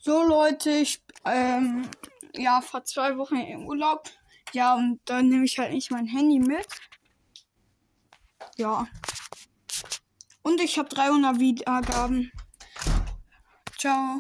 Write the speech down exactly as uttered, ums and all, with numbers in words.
So Leute, ich ähm, ja vor zwei Wochen im Urlaub. Ja, und dann nehme ich halt nicht mein Handy mit. Ja. Und ich habe dreihundert Wiedergaben. Ciao.